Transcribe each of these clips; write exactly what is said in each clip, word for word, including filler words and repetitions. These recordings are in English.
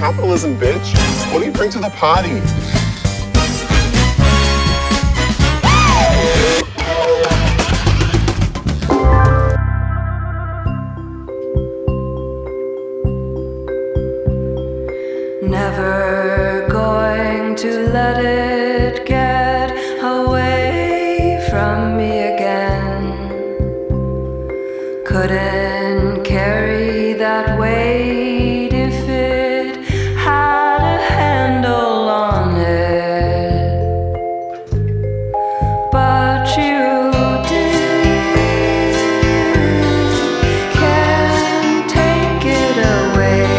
capitalism, bitch. What do you bring to the party? Never going to let it get away from me again. Couldn't carry that weight if it had a handle on it. But you did. Can't take it away.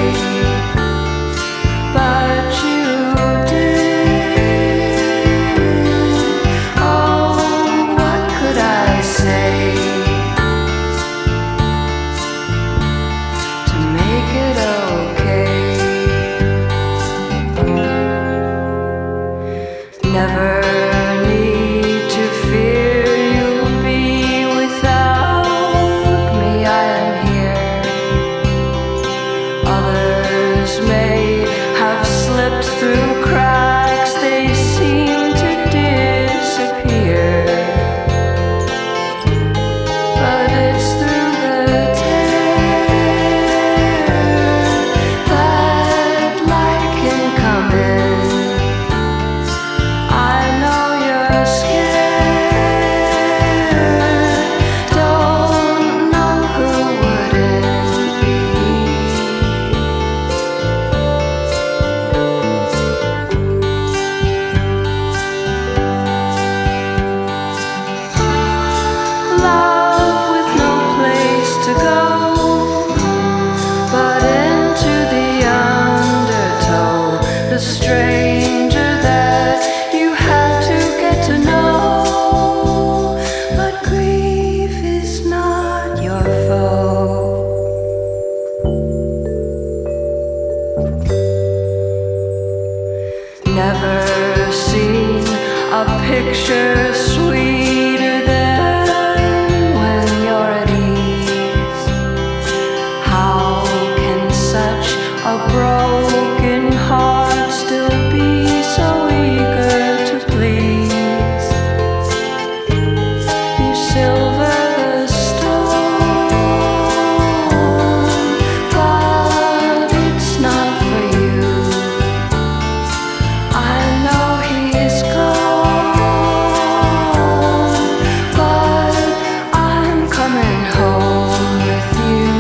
But you did. Oh, what could I say to make it okay? Never need to fear you'll be without me. I am here. Others may have slipped through cracks, they seem to disappear. But it's through the tear that light can come in. I know you're scared, don't know who wouldn't be. Love with no place to go, but into the undertow, the stranger that you had to get to know. But grief is not your foe. Never seen a picture sweeter than when you're at ease. How can such a broken heart still be so eager to please? You silver the storm, but it's not for you. I know he's gone, but I'm coming home with you.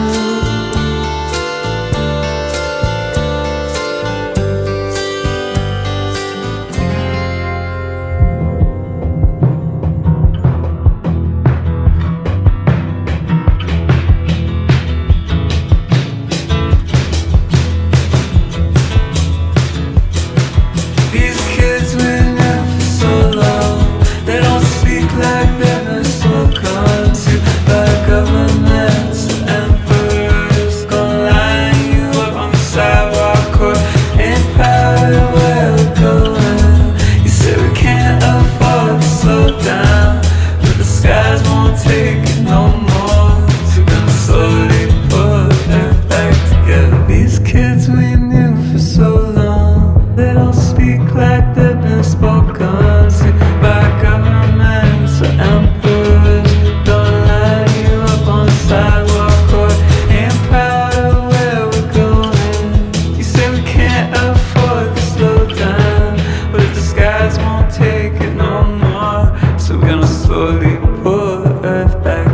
These kids been here for so long, they don't speak like they've been spoken to by governments and emperors. Gonna line you up on the sidewalk or ain't proud of where we're going. You say we can't afford to slow down, but the skies won't take it no more. So we're gonna slowly put it back together. These kids we knew for so long, they don't speak like they've been spoken to by governments or emperors. Don't line you up on the sidewalk or ain't proud of where we're going. You say we can't afford to slow down, but the skies won't take it no more. So we're gonna slowly pull the earth back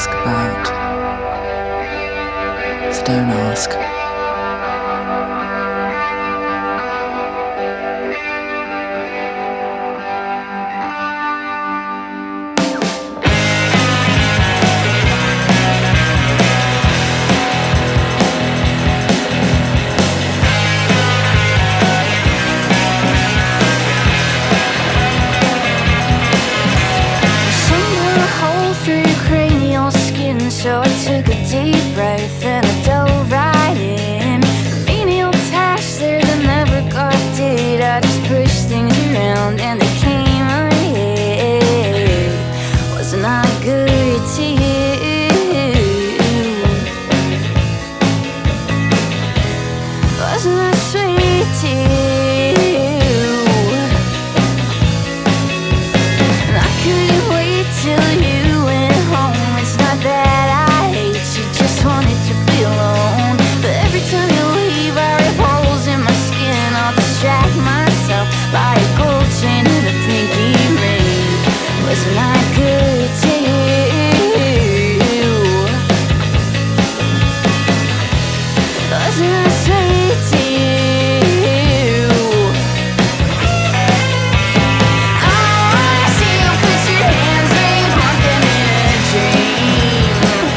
ask about. So don't ask. So I took a deep breath and I dove right in. Menial tasks there that never got did. I just pushed things around and they came ahead. Wasn't I good to you? Wasn't I sweet to you? And I couldn't wait till you went home. It's not that wanted to be alone, but every time you leave I rip holes in my skin. I'll distract myself by a gold chain and a pinky ring. Wasn't I good to you? Wasn't I sweet to you? I wanna see you put your hands where you want them in a dream.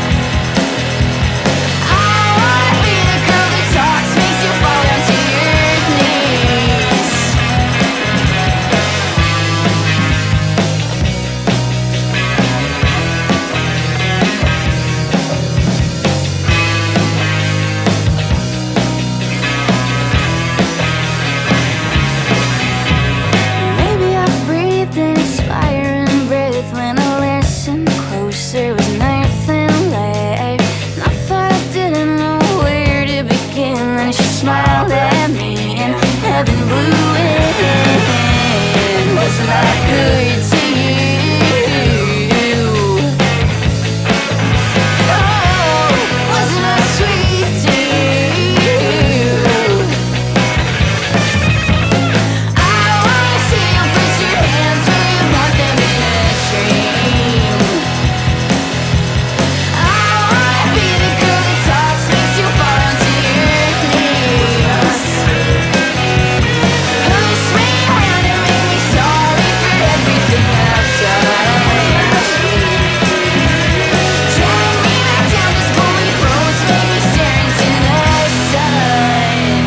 Smiled at me and heaven blew in. Wasn't I good to you? Oh, wasn't I sweet to you? I wanna see you put your hands where you want them in a dream. I wanna be the girl that talks, makes you fall onto your knees. Push me around and make me sorry for everything I've done. Drag me back down, just pull me close, make me stare into the sun.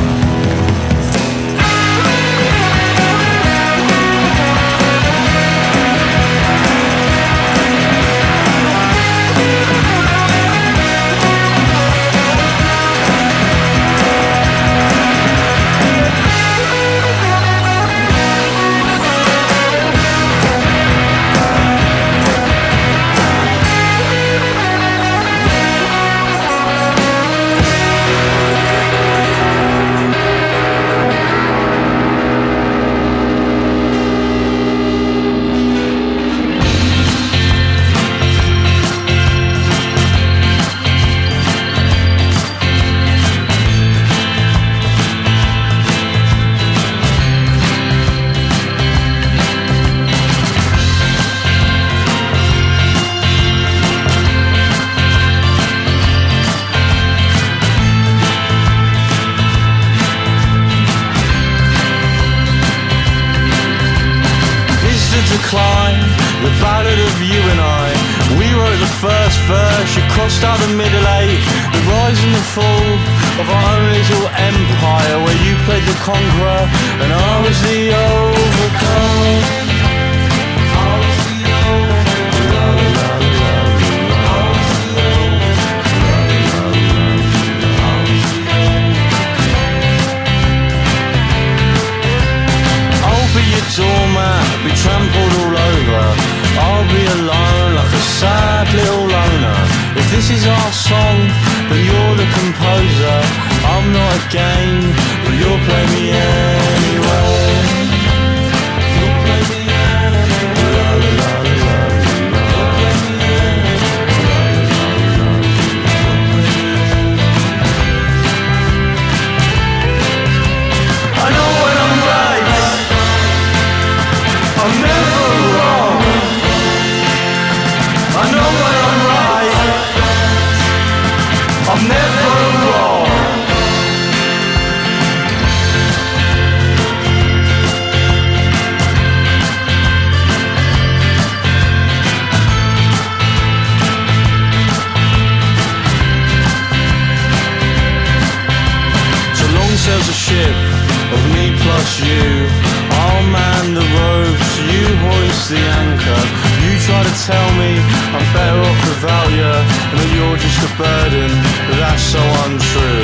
Decline, the ballad of you and I. We wrote the first verse, you crossed out the middle eight. The rise and the fall of our own little empire, where you played the conqueror and I was the overcome. I was the overcome. I'll be your doormat, be trampled all over. I'll be alone like a sad little loner. If this is our song, but you're the composer, I'm not a game, but you'll play me anyway. You'll play me anyway. I know when I'm right, I'm never wrong. I know when I'm right. you. I'll man the ropes, you hoist the anchor. You try to tell me I'm better off without you, and that you're just a burden, but that's so untrue.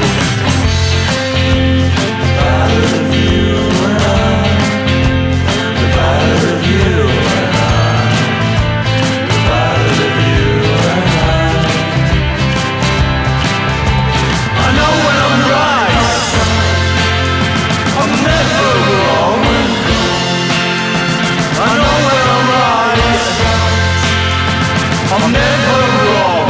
The ballad of you and I, the ballad of you and I, the ballad of you and I. I know when I'm right, I'm never wrong. I know when I'm right, I'm never wrong.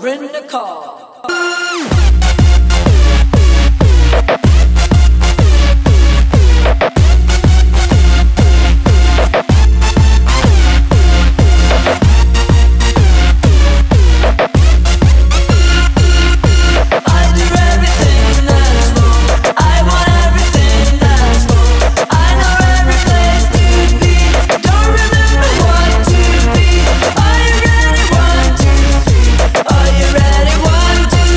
in the car. Are you ready? One, two,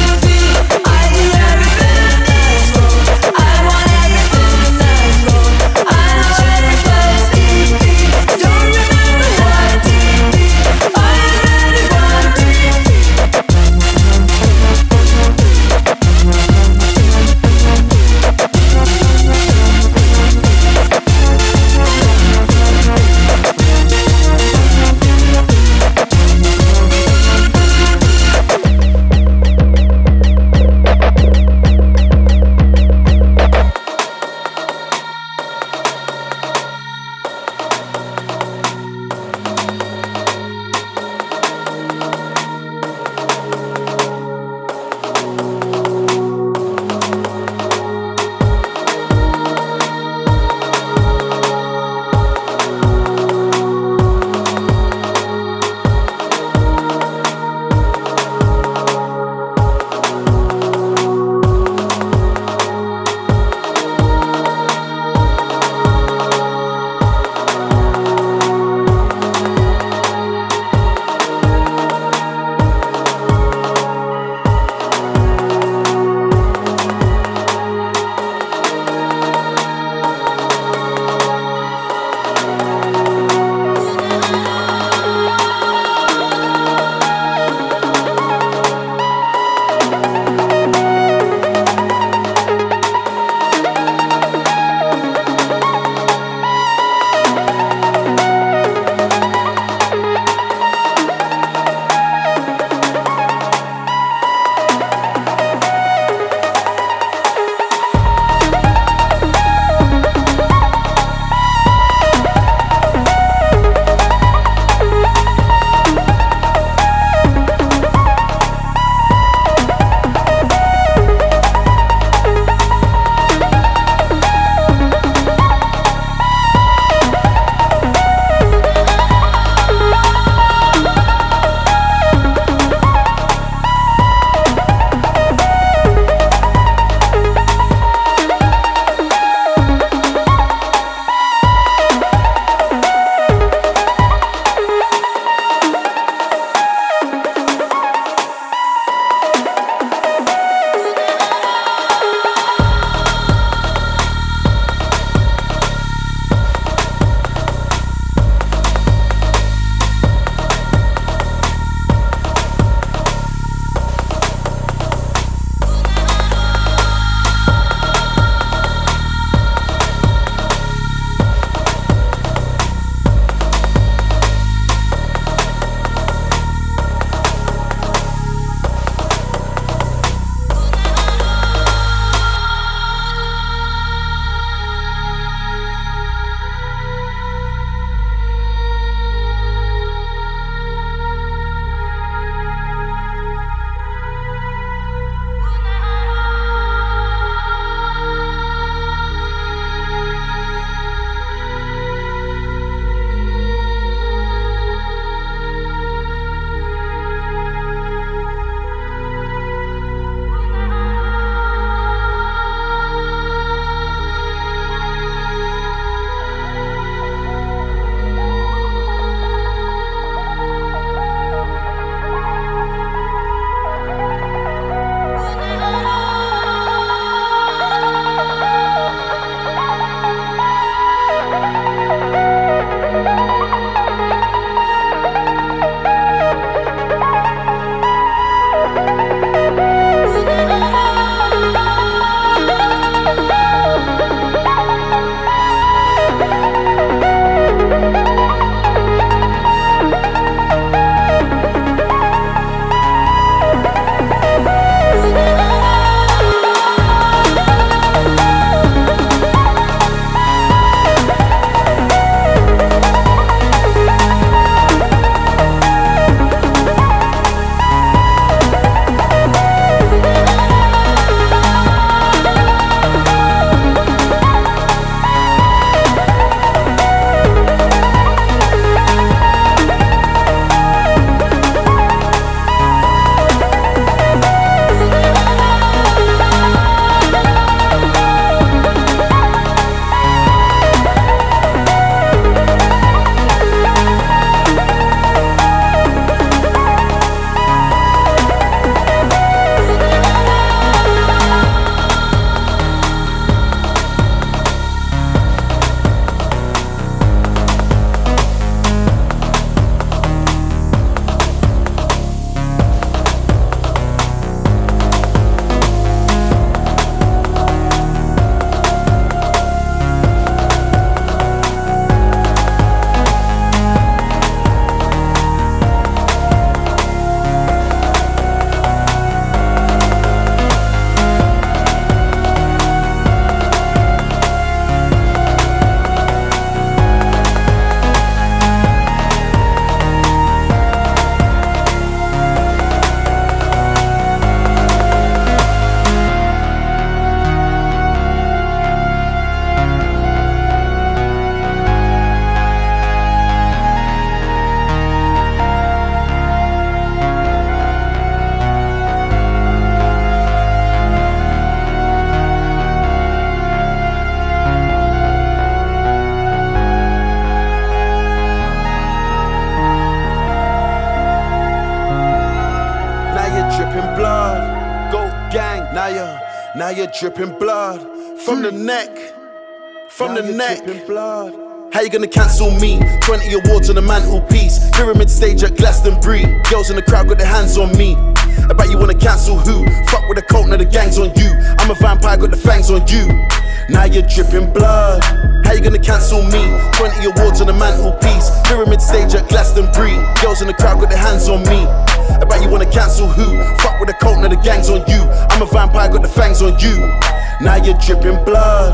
you're dripping blood from the neck, from now the neck. Blood. How you gonna cancel me? twenty awards on the mantelpiece. Pyramid stage at Glastonbury. Girls in the crowd got their hands on me. I bet you wanna cancel who? Fuck with the cult, now the gang's on you. I'm a vampire, got the fangs on you. Now you're dripping blood. How you gonna cancel me? twenty awards on the mantelpiece. Pyramid stage at Glastonbury. Girls in the crowd got their hands on me. I bet you wanna cancel who? Fuck with the cult, now the gang's on you. I'm a vampire, got the fangs on you. Now you're dripping blood.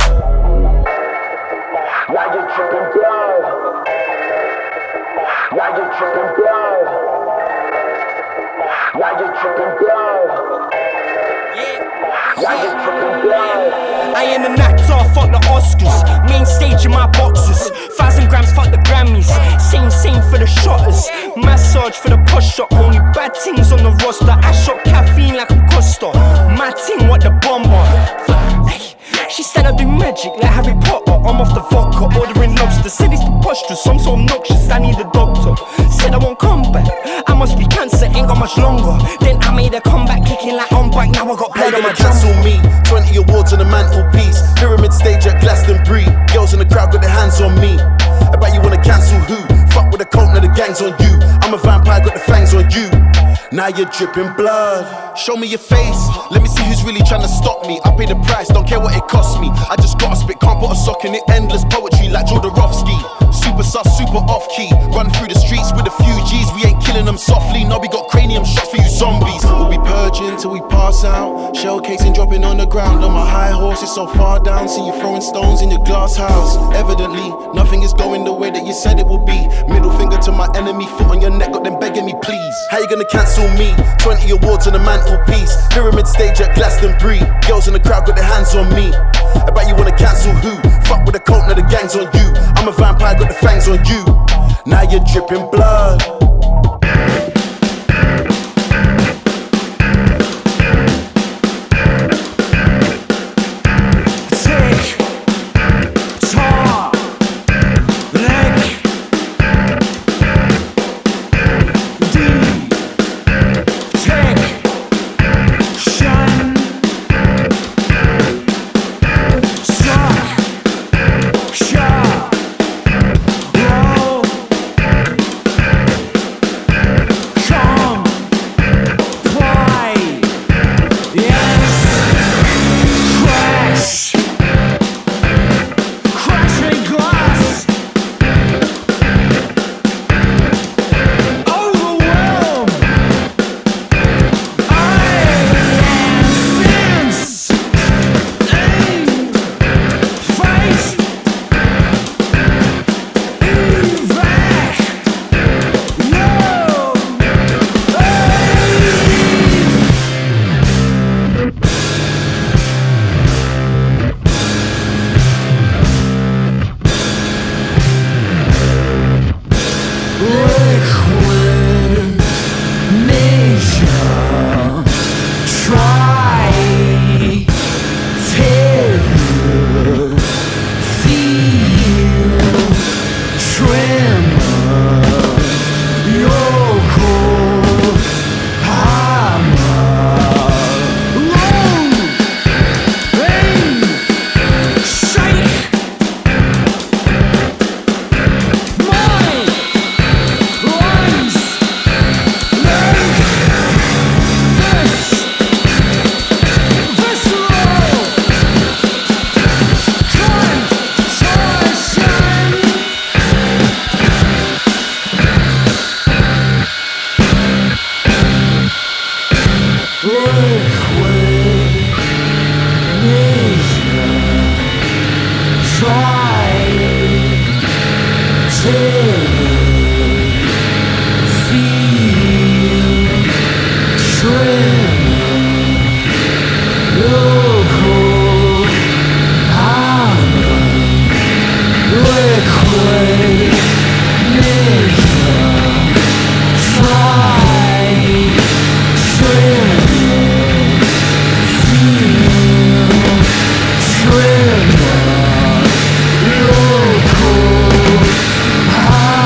Now you're dripping blood. Now you're dripping blood. Now you're dripping blood. Now you're dripping blood. I am an actor, fuck the Oscars. Main stage in my boxes. Thousand grams, fuck the Grammys. Same, same for the shotters. Massage for the posture. Only bad things on the roster. I shot caffeine like I'm Costa. My team, what the bomber. Hey, she said I do magic like Harry Potter. I'm off the vodka, ordering lobster. Said it's preposterous, I'm so obnoxious, I need a doctor. Said I won't come back, I must be cancer, ain't got much longer. Then I made a comeback, kicking like on bike. Now I got blood on my cancel me, twenty awards on the mantelpiece. Pyramid stage at Glastonbury. Girls in the crowd got their hands on me. I bet you wanna cancel who? Fuck with the cult, now the gang's on you. I'm a vampire, got the fangs on you. Now you're dripping blood. Show me your face, let me see who's really trying to stop me. I pay the price, don't care what it costs me. I just gotta spit, can't put a sock in it. Endless poetry like Jodorowsky. Super sus, super off key. Run through the streets with a few G's. We ain't killing them softly, no, we got cranium shots for you zombies. We'll be purging till we pass out. Shell casing dropping on the ground. On my high horse, it's so far down. See you throwing stones in your glass house. Evidently, nothing is going the way that you said it would be. Middle finger to my enemy, foot on your neck, got them begging me please. How you gonna cancel me? twenty awards on the mantelpiece. Pyramid stage at Glastonbury. Girls in the crowd got their hands on me. I bet you wanna cancel who? Fuck with the cult, now the gang's on you. I'm a vampire, got the fangs on you. Now you're dripping blood. Ah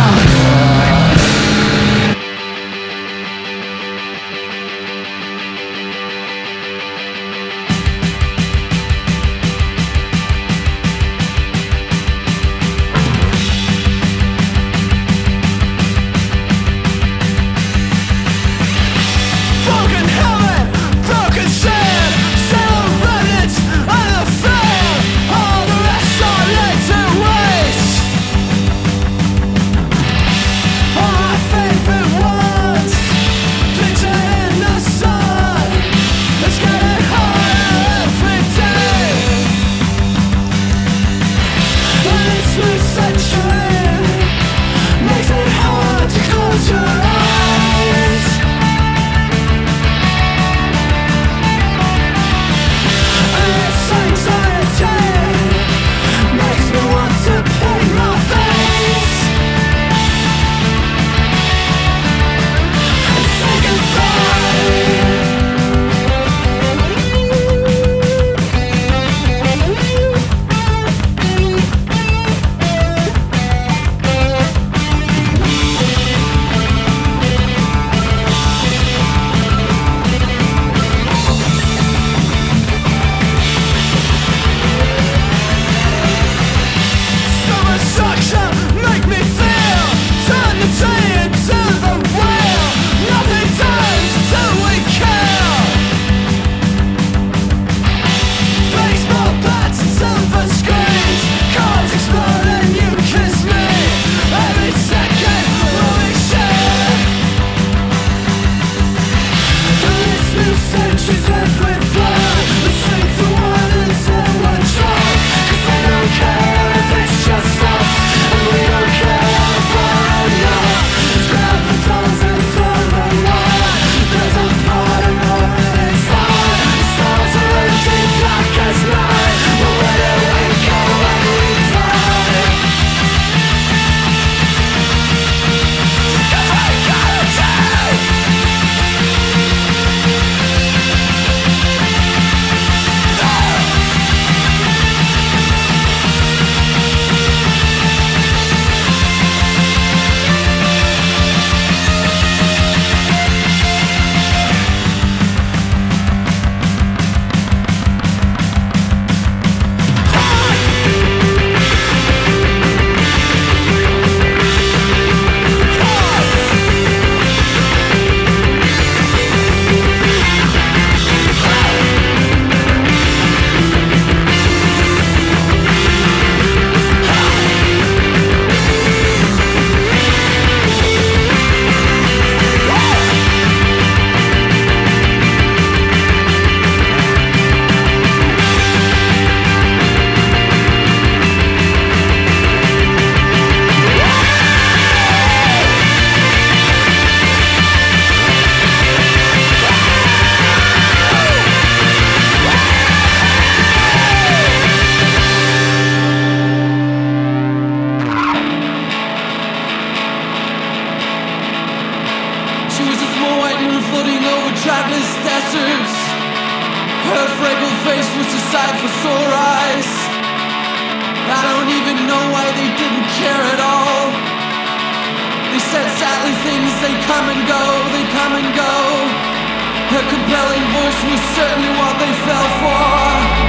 come and go, they come and go. Her compelling voice was certainly what they fell for.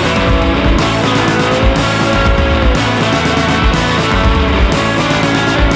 Thank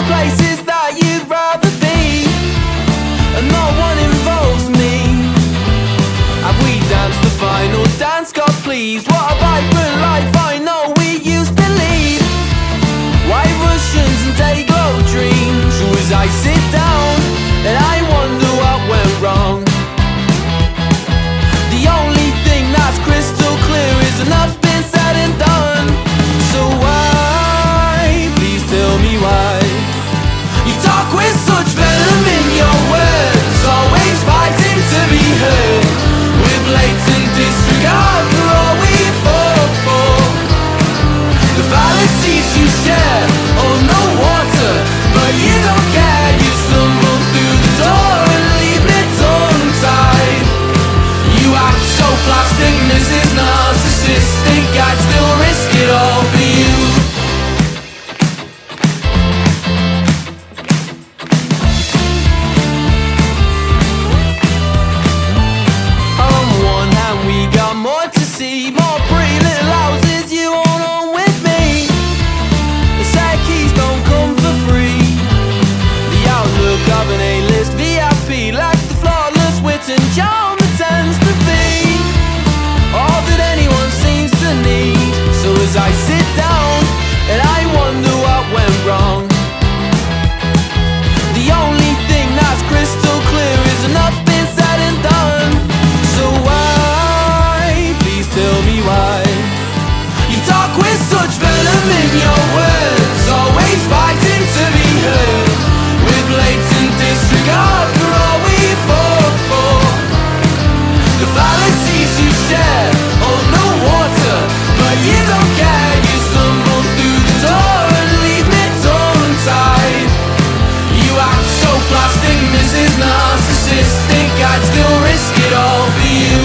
places that you'd rather be, and no one involves me. Have we danced the final dance, God please? What a vibrant life I know we used to lead. White Russians and day-glow dreams. So as I sit down and I wonder what went wrong, the only thing that's crystal clear is enough's been said and done. So why, please tell me why, you talk with such venom in your words, always fighting to be heard, with blatant disregard for all we fought for. The fallacies you share, oh no water, but you don't care. You stumble through the door and leave me tongue-tied. You act so plastic, Missus Narcissistic, I'd still risk it all for you. On one hand we got more to see, more pretty little houses you own on with me. The side keys don't come for free. The outlook of an A-list V I P, like the flawless wit and charm that tends to be all that anyone seems to need. So as I sit down and I wonder what went wrong, the only thing that's crystal clear is enough's been said and done. So why, please tell me why, you talk with such venom in your words, always fighting to be heard, with blatant disregard for all we fought for. The fallacies you share, hold no water, but you don't care. You stumble through the door and leave me tongue-tied. You act so plastic, Missus Narcissistic, I'd still risk it all for you.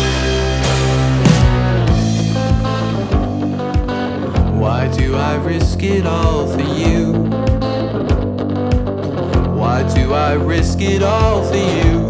Why do I risk it all for you? Why do I risk it all for you?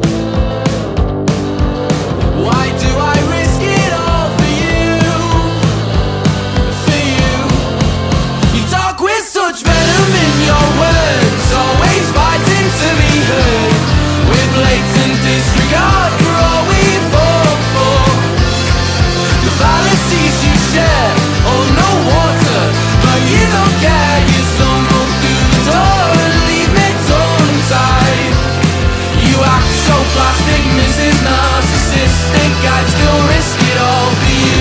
Why do I risk it all for you? For you. You talk with such venom in your words, always fighting to be heard, with blatant disregard for all we fought for. The fallacies you share, oh no water, but you don't care. You stumble through the door and leave me tongue-tied. You act so plastic, Missus Narcissistic, I'd still risk it all for you.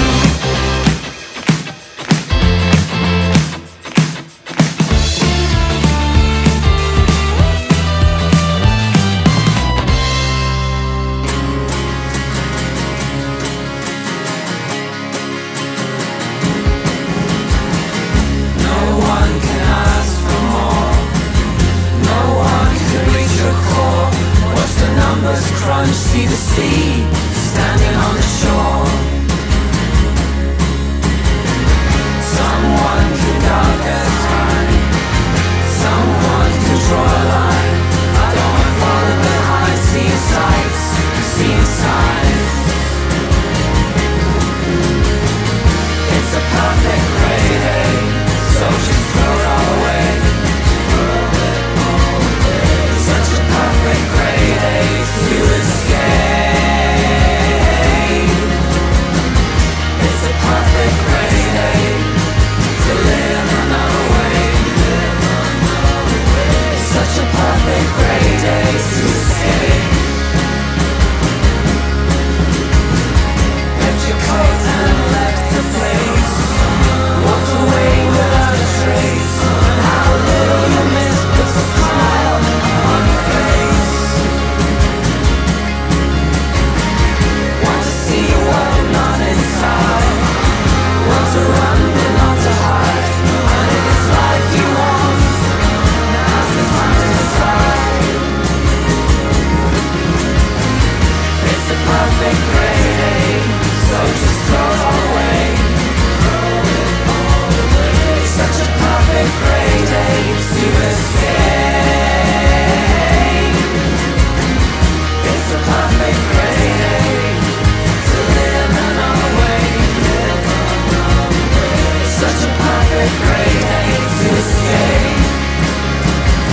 No one can ask for more, no one can reach your core. Watch the numbers crunch, see the sea standing on the shore. Someone can guard their time, someone can draw a line. I don't want to follow behind, seeing sights, seeing signs. It's a perfect gray day, so just throw it all away. Such a perfect gray day to escape. It's a perfect gray day to live another way. Such a perfect gray day to escape. Left your coat and left the place, walked away without a trace. How little you miss puts a smile on your face. Want to see what's not inside, want to run but not to hide. And if it's life you want, now's the time to decide. It's a perfect gray day, so just throw it all away. Such a perfect gray day to escape. It's a perfect gray day to live another way. Such a perfect gray day to escape.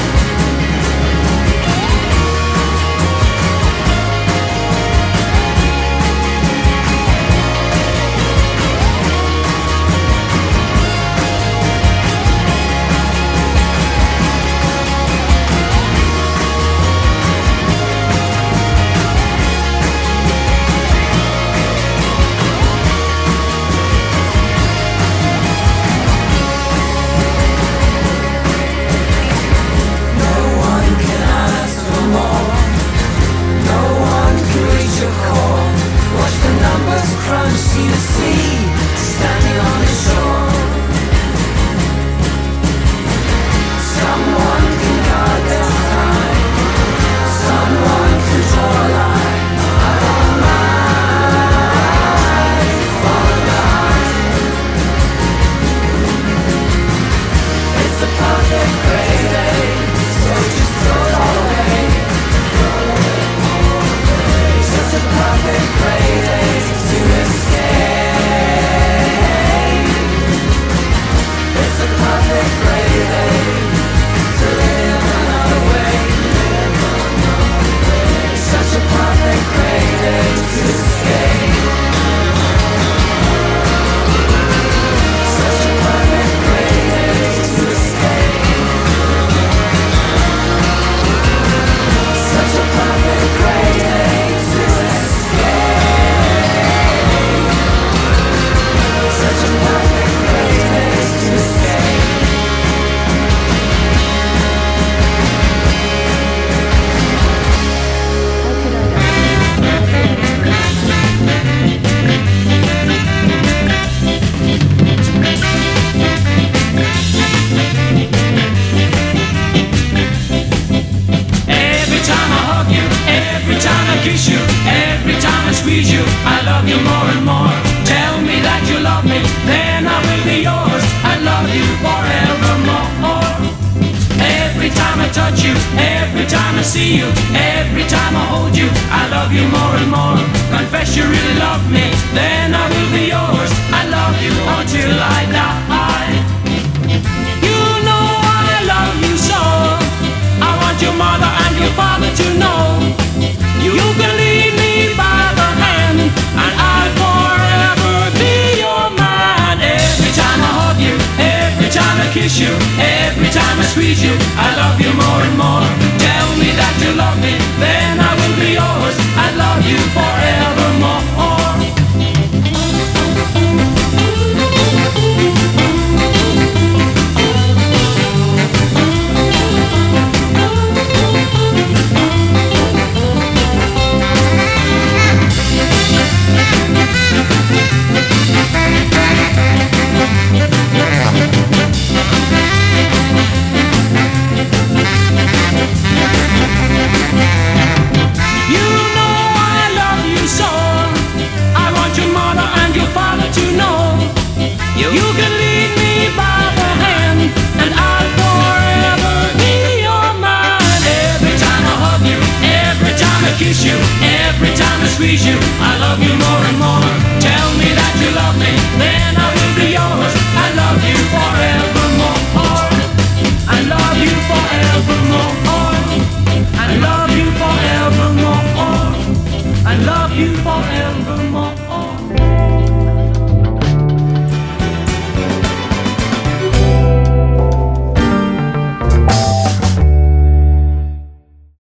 touch you, every time I see you, every time I hold you, I love you more and more. Confess you really love me, then I will be yours. I love you until I die. You know I love you so. I want your mother and your father to know. You can lead me by the hand, and I'll forever be your man. Every time I hug you, every time I kiss you, every time I squeeze you, I love you more and more. Tell me that you love me, then I will be yours. I love you forevermore. You can lead me by the hand, and I'll forever be your man. Every time I hug you, every time I kiss you, every time I squeeze you, I love you more and more. Tell me that you love me,